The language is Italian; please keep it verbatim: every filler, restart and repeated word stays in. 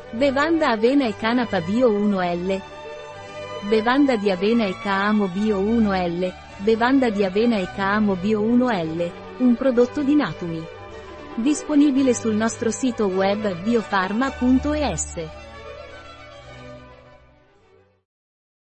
Bevanda avena e canapa bio uno L. Bevanda di avena e camo bio uno L. Bevanda di avena e camo bio uno L. Un prodotto di Natumi. Disponibile sul nostro sito web biofarma punto es.